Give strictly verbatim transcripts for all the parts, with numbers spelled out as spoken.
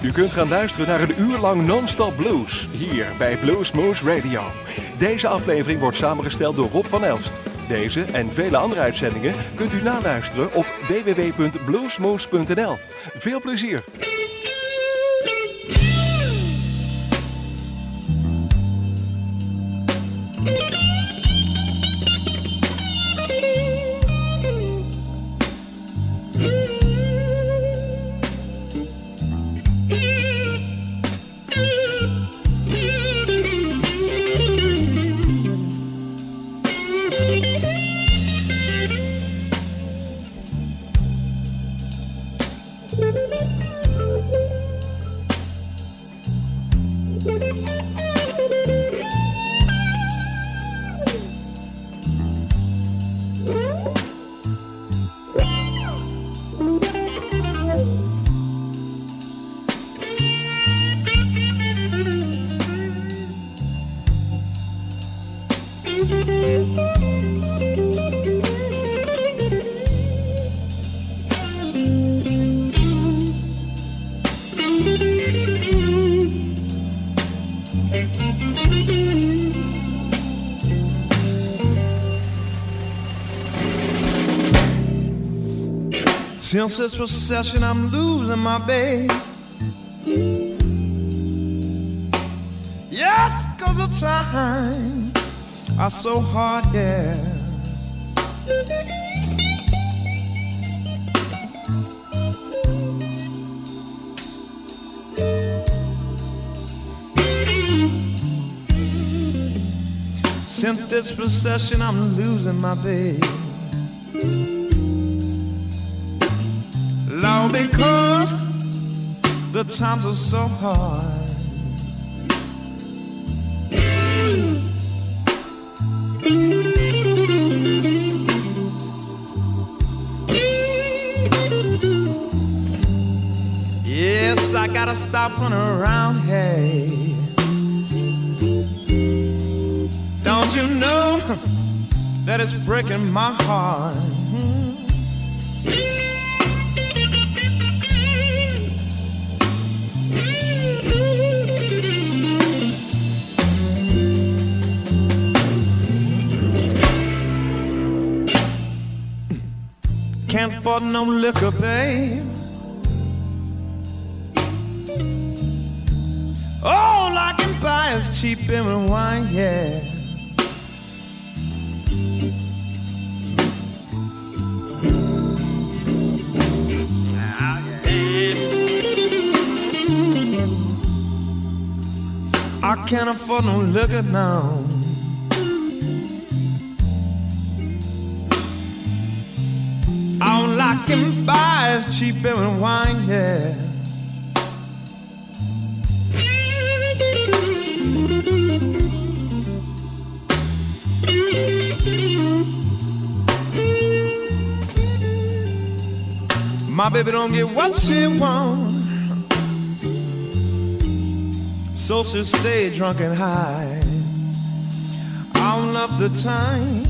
U kunt gaan luisteren naar een uur lang non-stop blues, hier bij Bluesmoose Radio. Deze aflevering wordt samengesteld door Rob van Elst. Deze en vele andere uitzendingen kunt u naluisteren op w w w punt bluesmoose punt n l. Veel plezier! Since this recession, I'm losing my babe. Yes, 'cause the times are so hard, yeah. Since this recession, I'm losing my babe. Lord, because the times are so hard. Yes, I gotta stop running around, hey. Don't you know that it's breaking my heart? Can't afford no liquor, babe. All I can buy is cheap and wine, yeah. I can't afford no liquor now. All I can buy is cheap beer and wine, yeah. My baby don't get what she wants, so she stay drunk and high all of the time.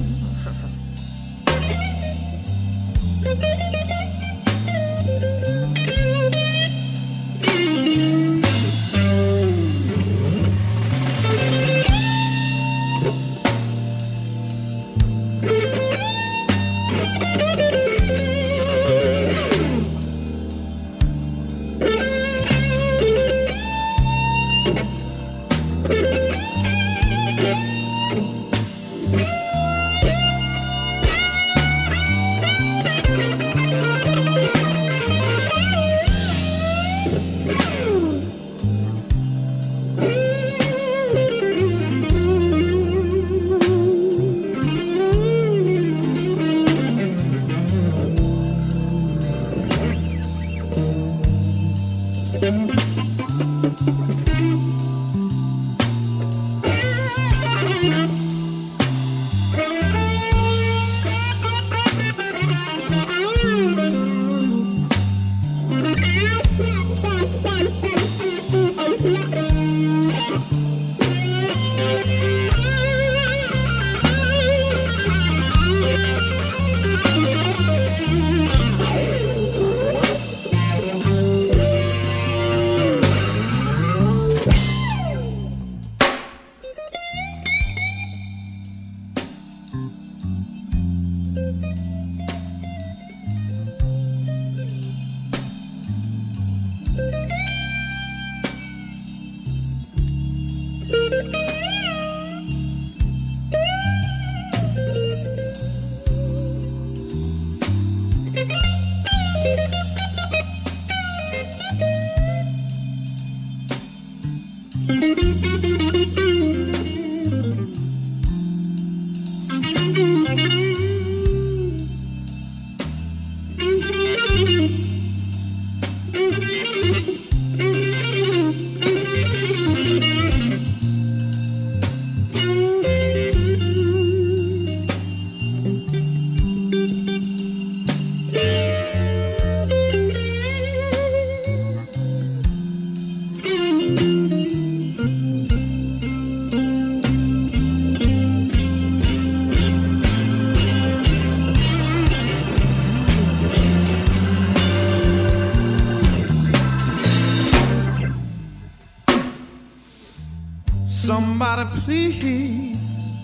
somebody please.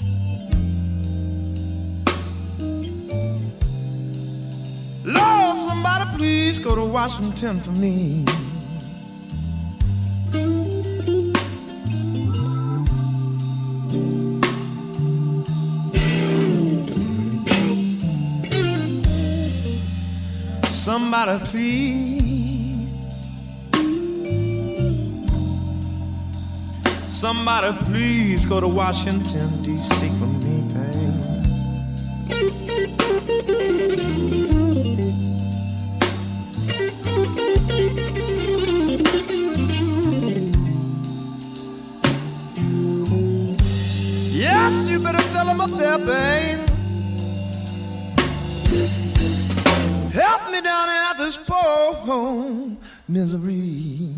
Lord, somebody please go to Washington for me. Somebody please, somebody please go to Washington, D C for me, babe. Yes, you better tell them up there, babe. Help me down out this poor misery.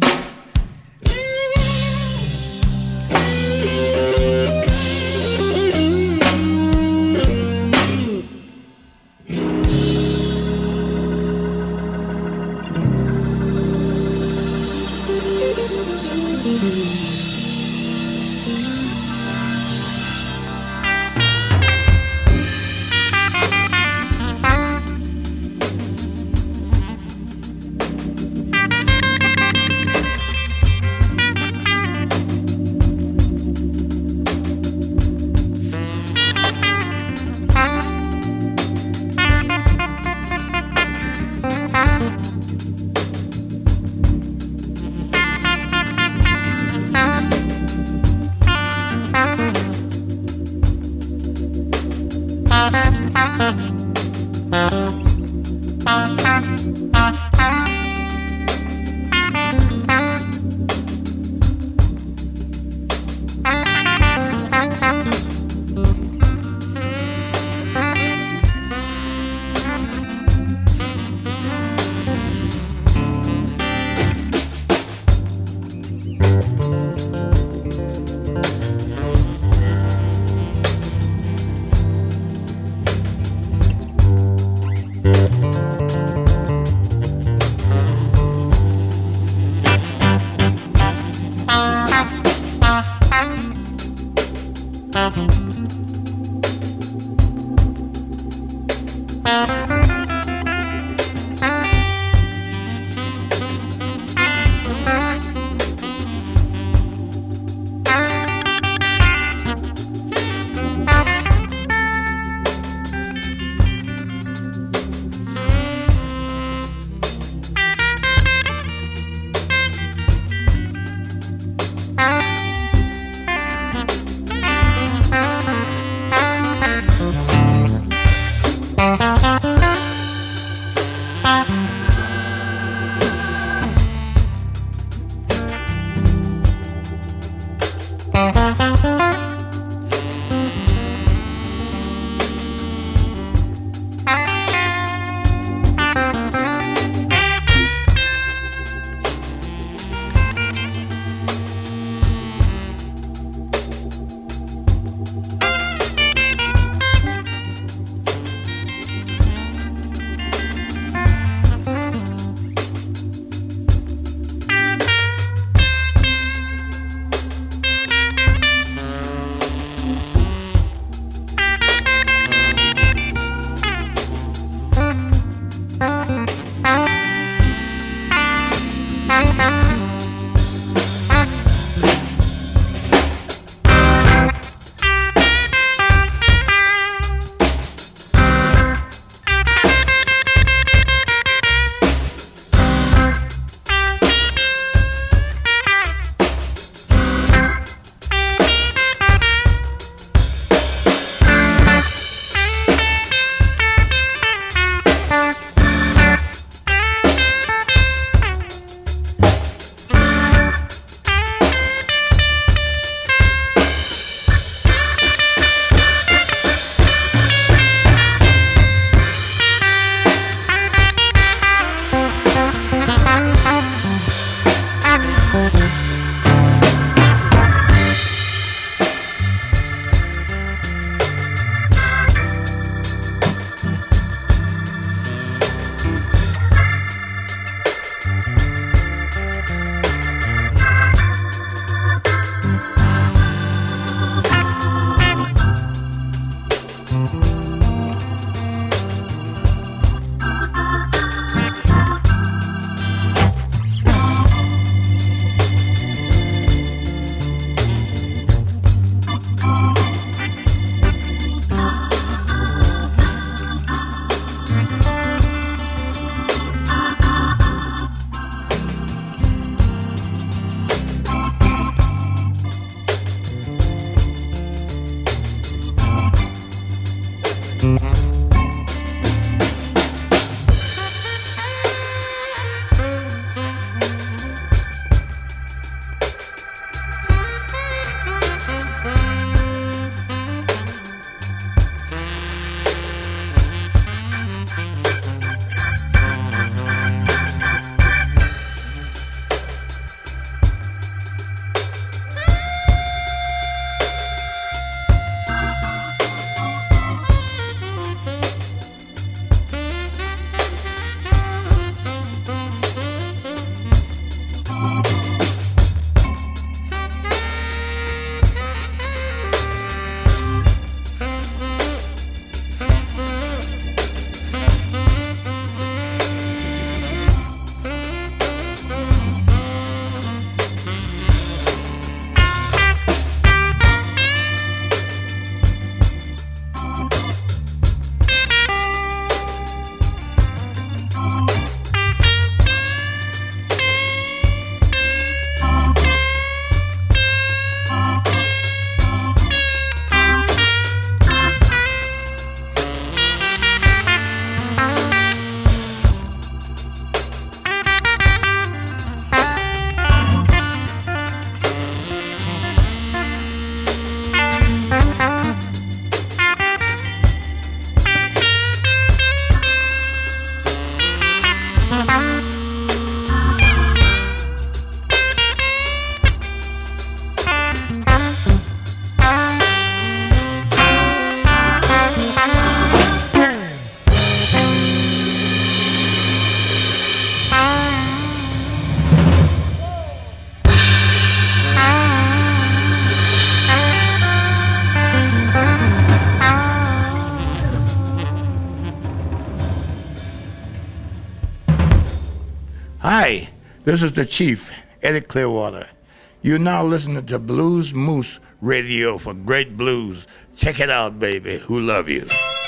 Hi, this is the Chief, Eddie Clearwater. You're now listening to Blues Moose Radio for great blues. Check it out, baby. Who love you?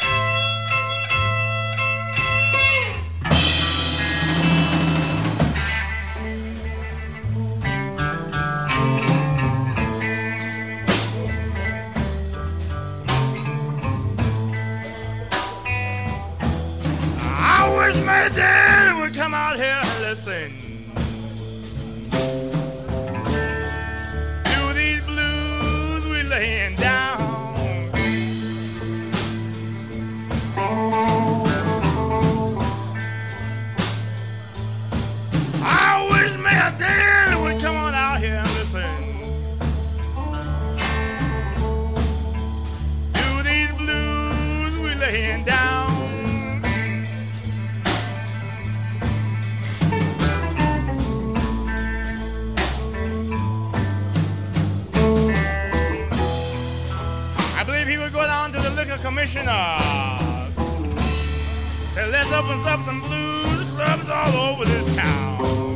I wish my daddy would come out here and listen to these blues we laying down. I wish my daddy would come on out here and listen to these blues we laying down. Go down to the liquor commissioner. Say, let's open up some blues clubs all over this town.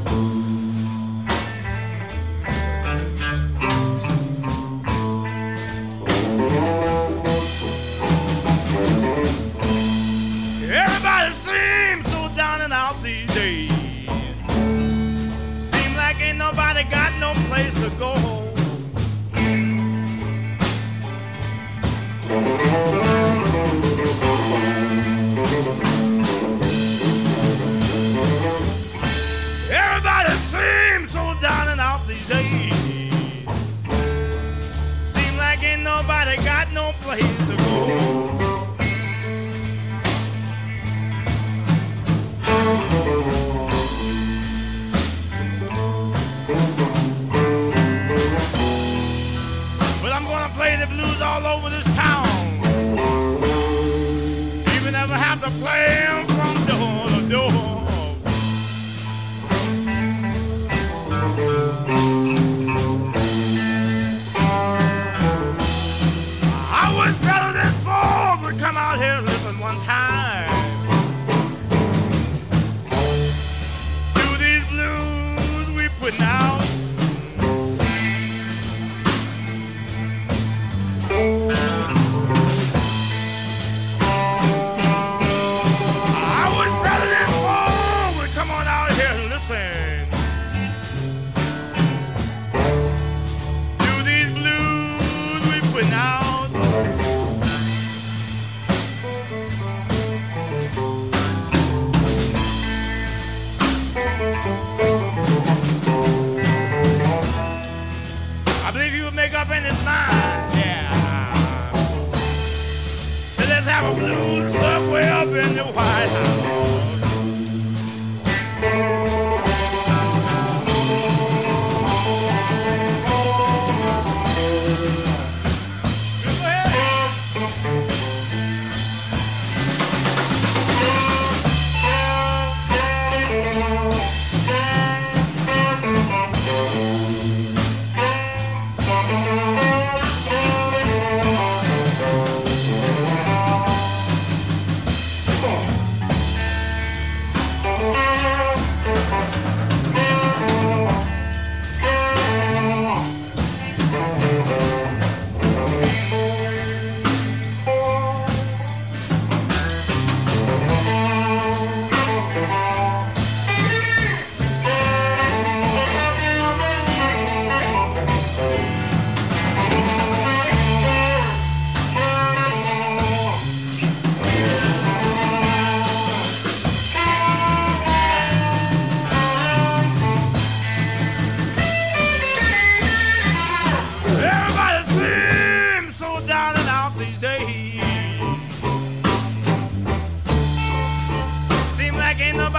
Everybody seems so down and out these days. Seems like ain't nobody got no place to go. Everybody seems so down and out these days. Seems like ain't nobody got no place to go. But I'm gonna play the blues all over this town. Even if I have to play them from door to door. I was better than four, but come out here and listen one time to these blues we putting out. I was better than four, but come on out here and listen to these blues we putting out.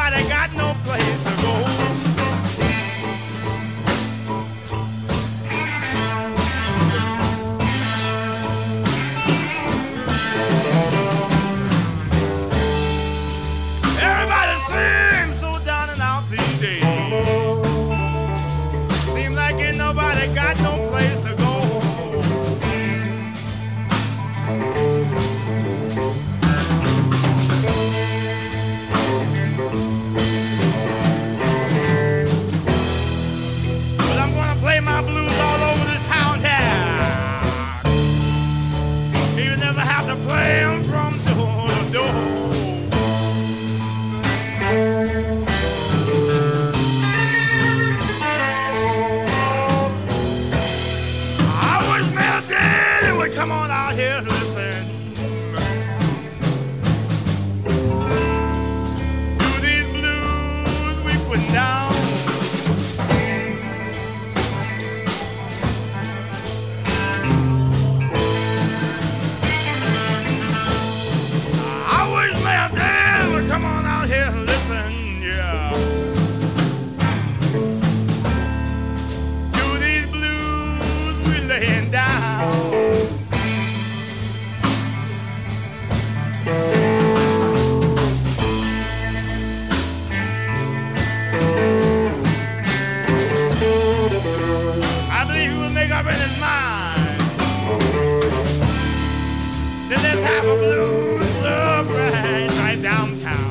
nobody got no place to go. Everybody seems so down and out these days. Seems like ain't nobody got no place to go. Well, I'm gonna play my blues all over this town here. Even if I have to play 'em from door to door. I wish Mel Daddy would come on out here to listen to these blues we put down. I wish Mel Daddy would come on out here to listen, yeah, to these blues we laying down. I believe he will make up in his mind. So let's have a blues club right, right downtown.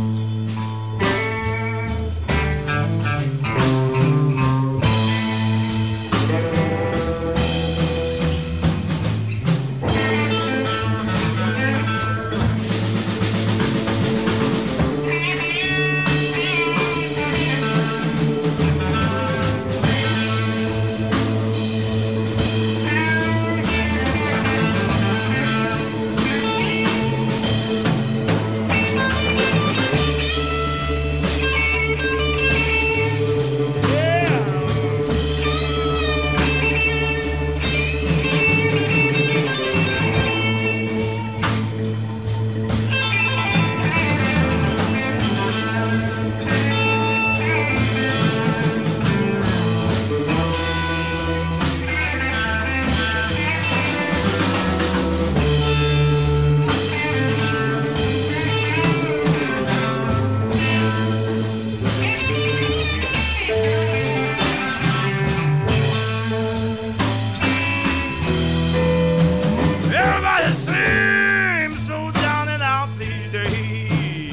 Everybody seems so down and out these days.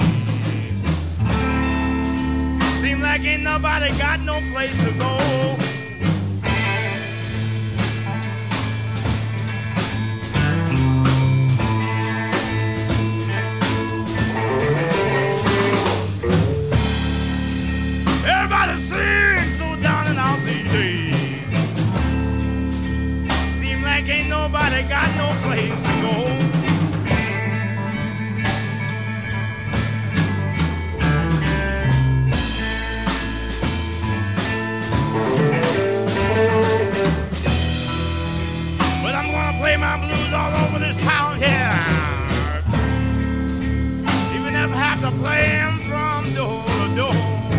Seems like ain't nobody got no place to go. Everybody seems so down and out these days. Seem like ain't nobody got no place to go. But I'm gonna play my blues all over this town here. Even if I have to play 'em from door to door.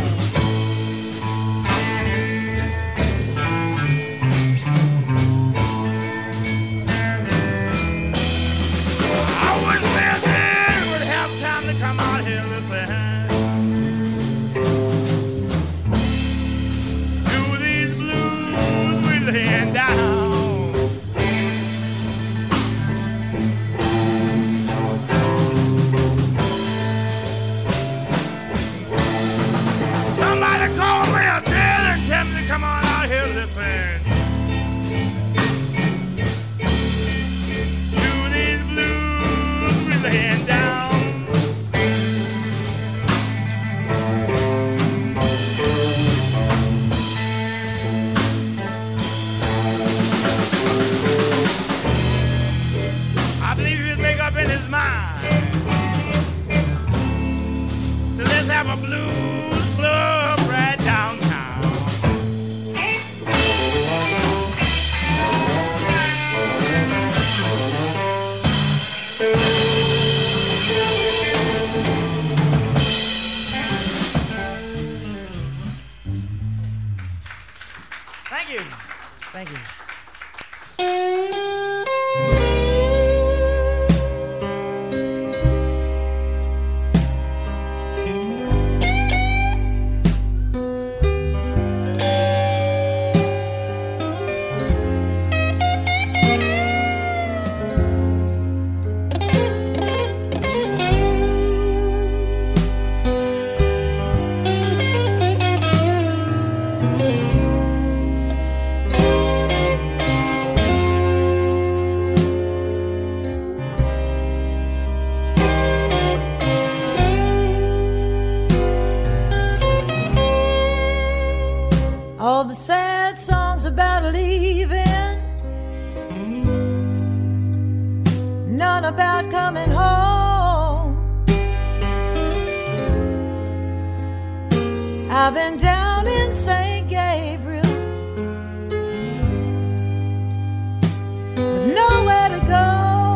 I wish Mel Daddy would have time to come out here and listen to these blues we laying down. Somebody call Mel Daddy and tell me to come on out here and listen to these blues we laying down. I believe he'll make up in his mind. So let's have a blues club right downtown. you. Thank you. All the sad songs about leaving, none about coming home. I've been down in Saint Gabriel with nowhere to go.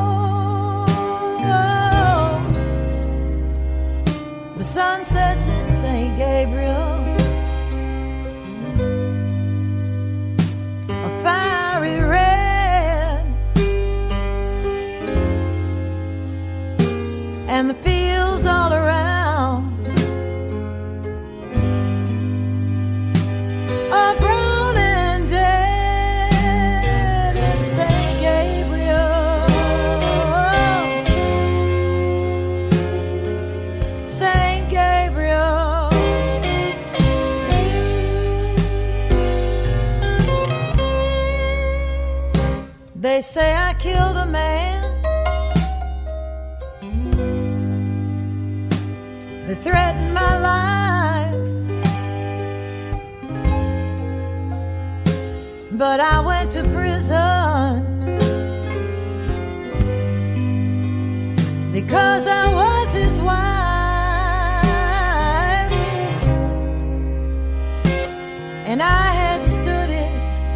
The sun sets in Saint Gabriel, fiery red, and the fields all around are brown and dead in Saint Gabriel. Saint Gabriel. They say I killed a man. They threatened my life, but I went to prison because I was his wife, and I had stood it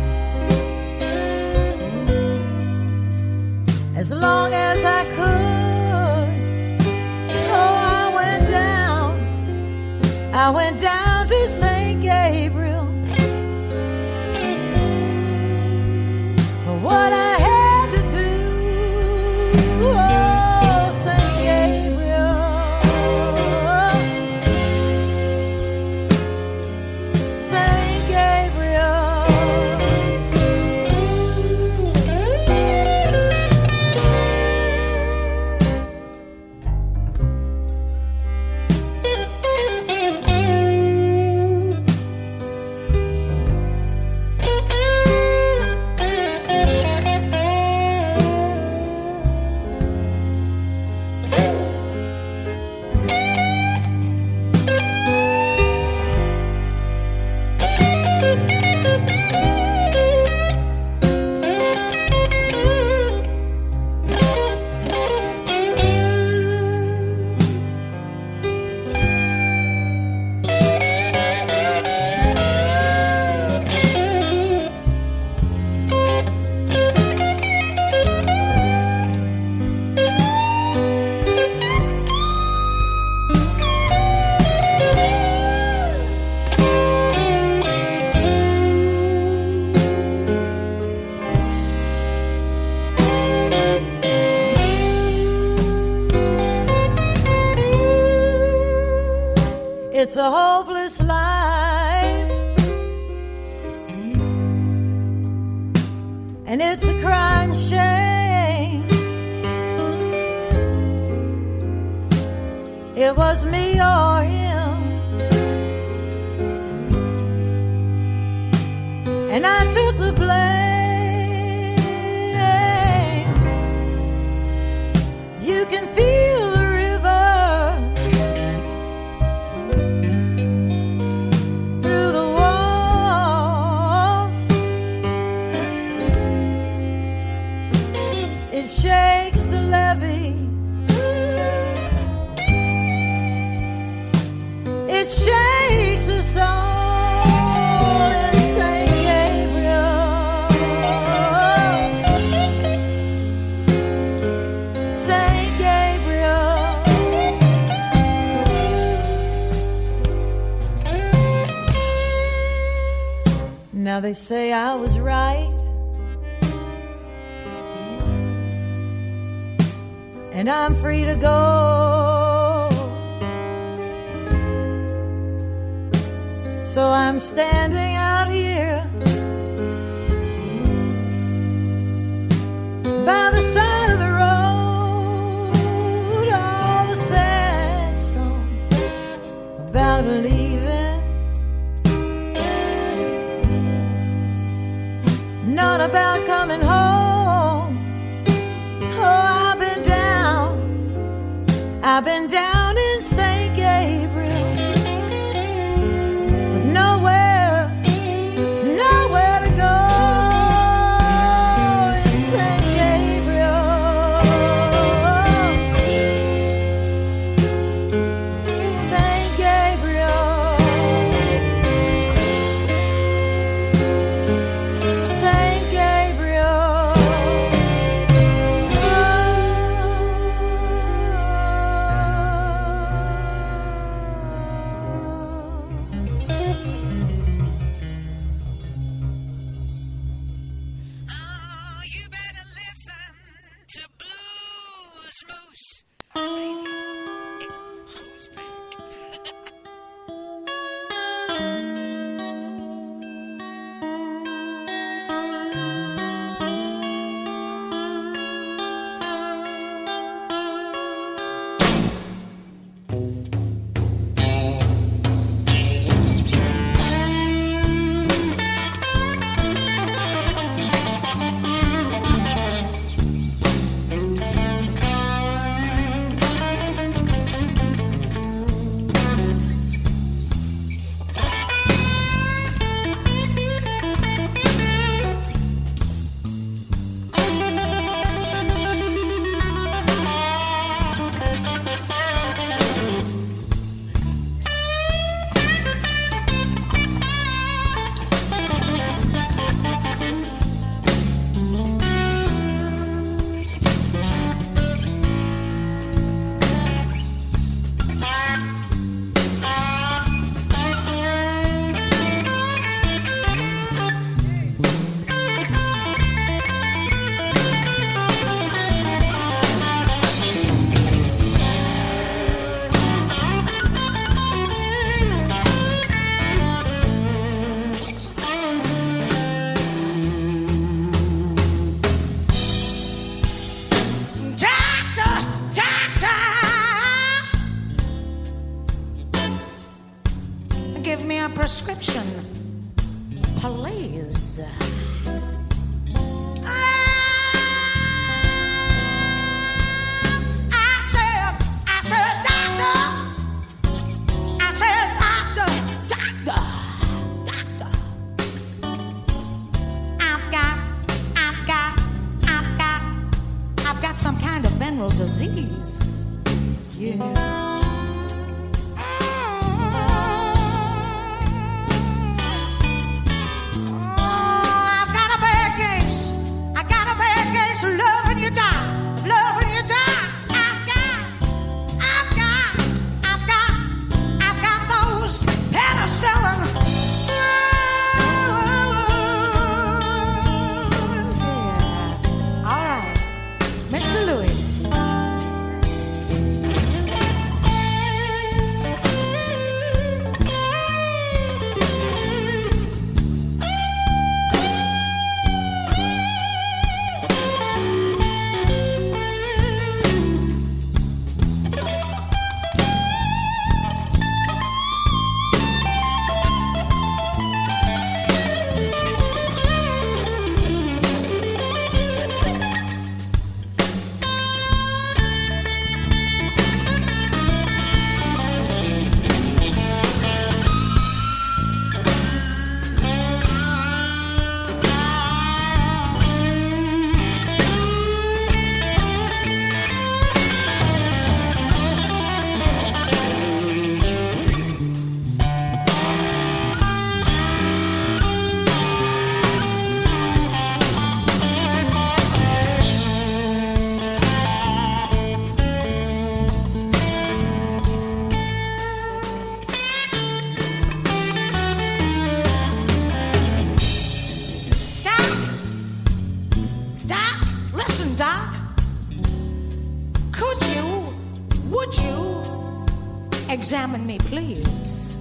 as long as I could. Oh, I went down, I went down to Saint Gabriel for what I had to do. Oh, Saint Gabriel, Saint Gabriel. It's a hopeless life, and it's a crying shame. It was me or him, and I took the blame. You can feel the river through the walls. It shakes the levee. It shakes us all in Saint Gabriel. Saint Gabriel. Now they say I was right, and I'm free to go. So I'm standing out here by the side of the road, all the sad songs about leaving, not about coming home. Oh, I've been down, I've been down in Saint Gabriel, with nowhere, nowhere to go. In Saint Gabriel, Saint Gabriel, Saint Gabriel. Oh, you better listen to Blues Moose. Who's back? Doctor, doctor, give me a prescription, please. I said, I said, doctor, I said, doctor, doctor, doctor. I've got, I've got, I've got, I've got some kind of venereal disease. Yeah. I've got a bad case. I got a bad case of love when you die. Love when you die. I've got, I've got, I've got, I've got those penicillin. Yeah. All right, Mister Louis. examine me, please.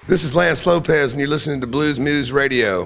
This is Lance Lopez, and you're listening to Blues Moose Radio.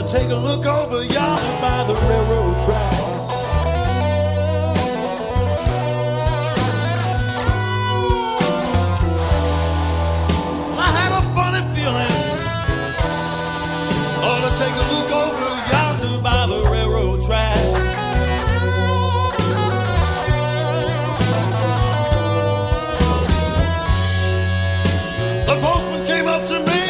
take a look over yonder by the railroad track. I had a funny feeling. Ought to take a look over yonder by the railroad track. The postman came up to me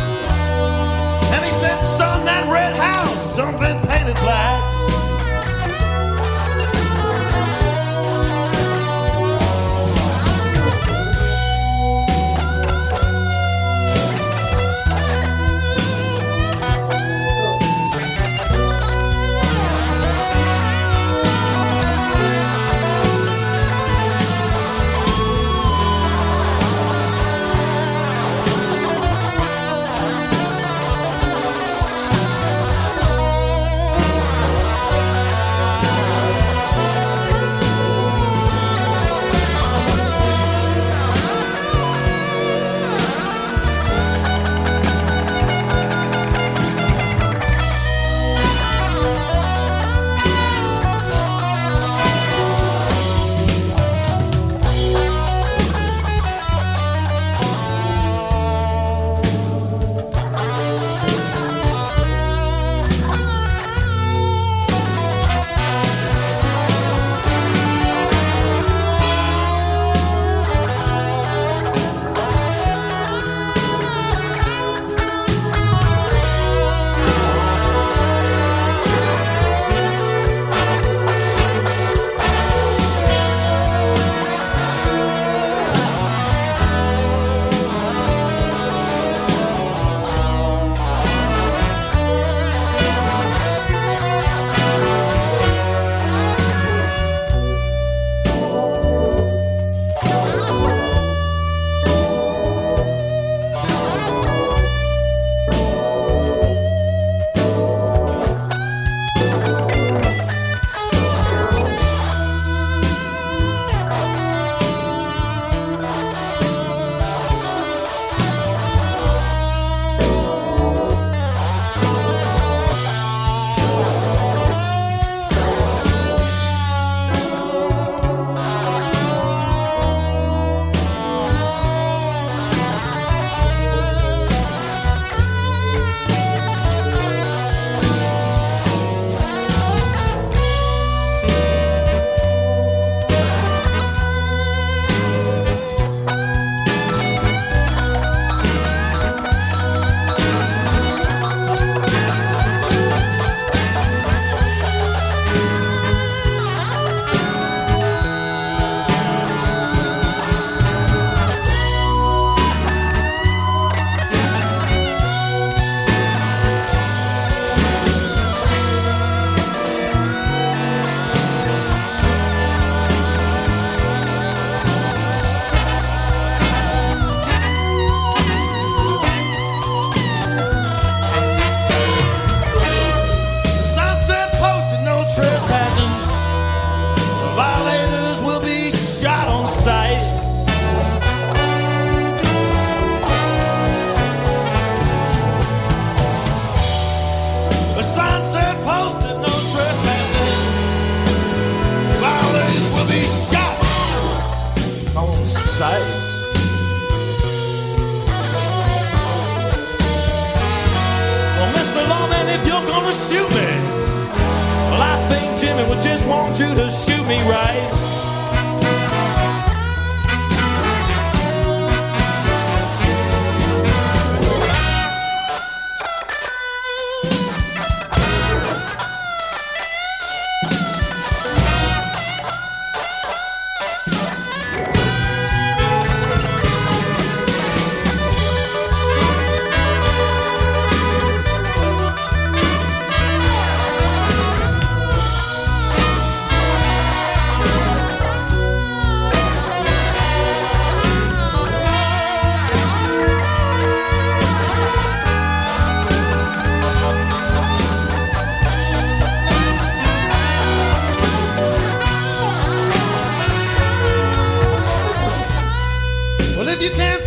and he said, son, that red house done been painted black.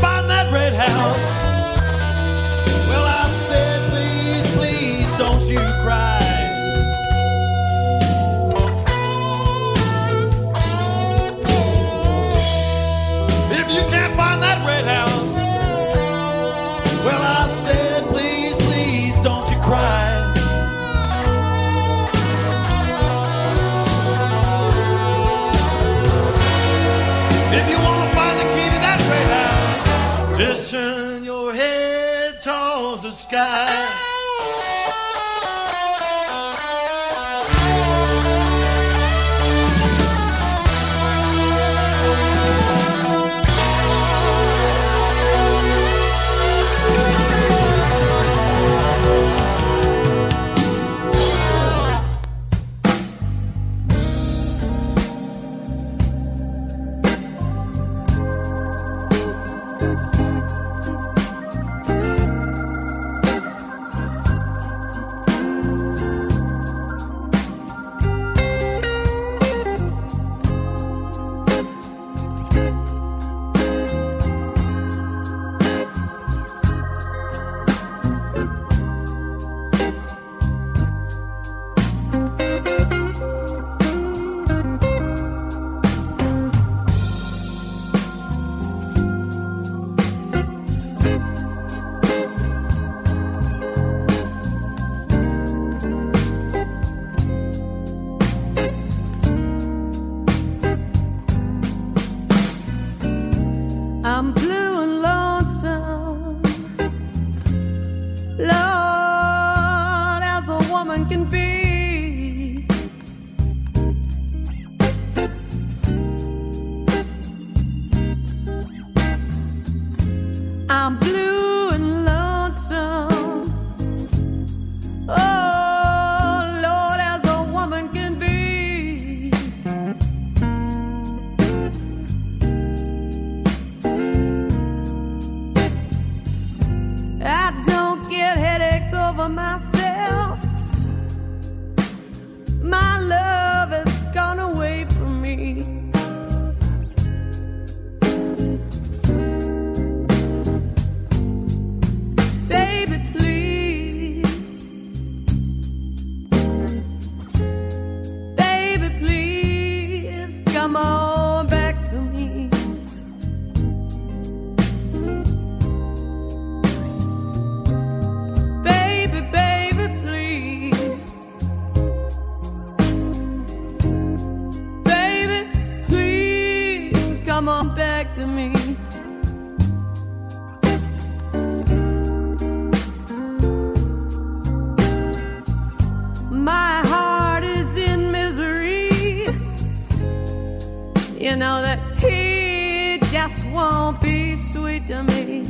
you sky. You know that he just won't be sweet to me.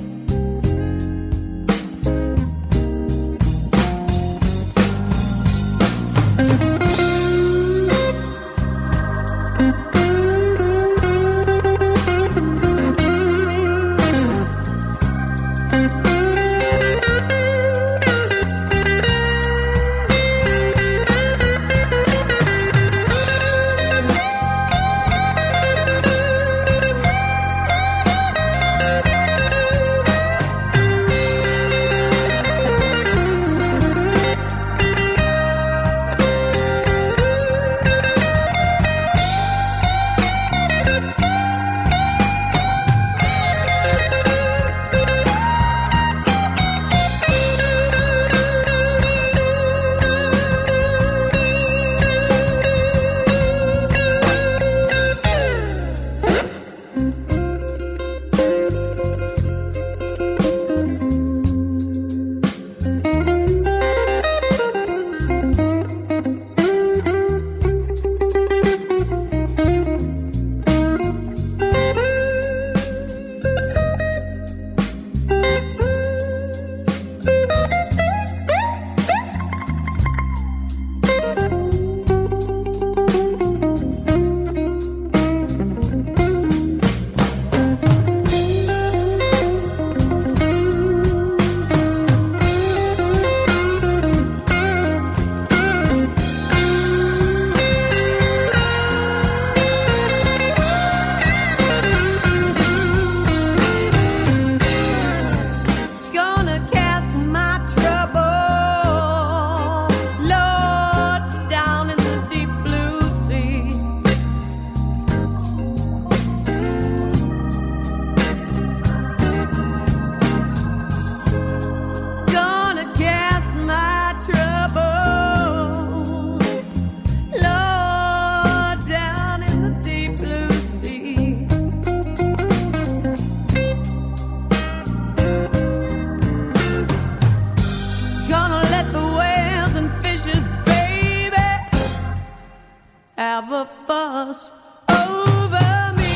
loss over me.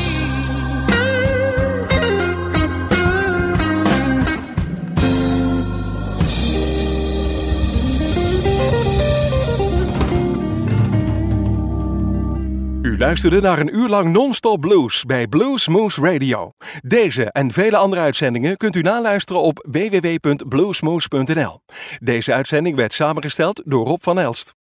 U luisterde naar een uur lang non-stop blues bij Blues Moose Radio. Deze en vele andere uitzendingen kunt u naluisteren op w w w punt bluesmoose punt n l. Deze uitzending werd samengesteld door Rob van Elst.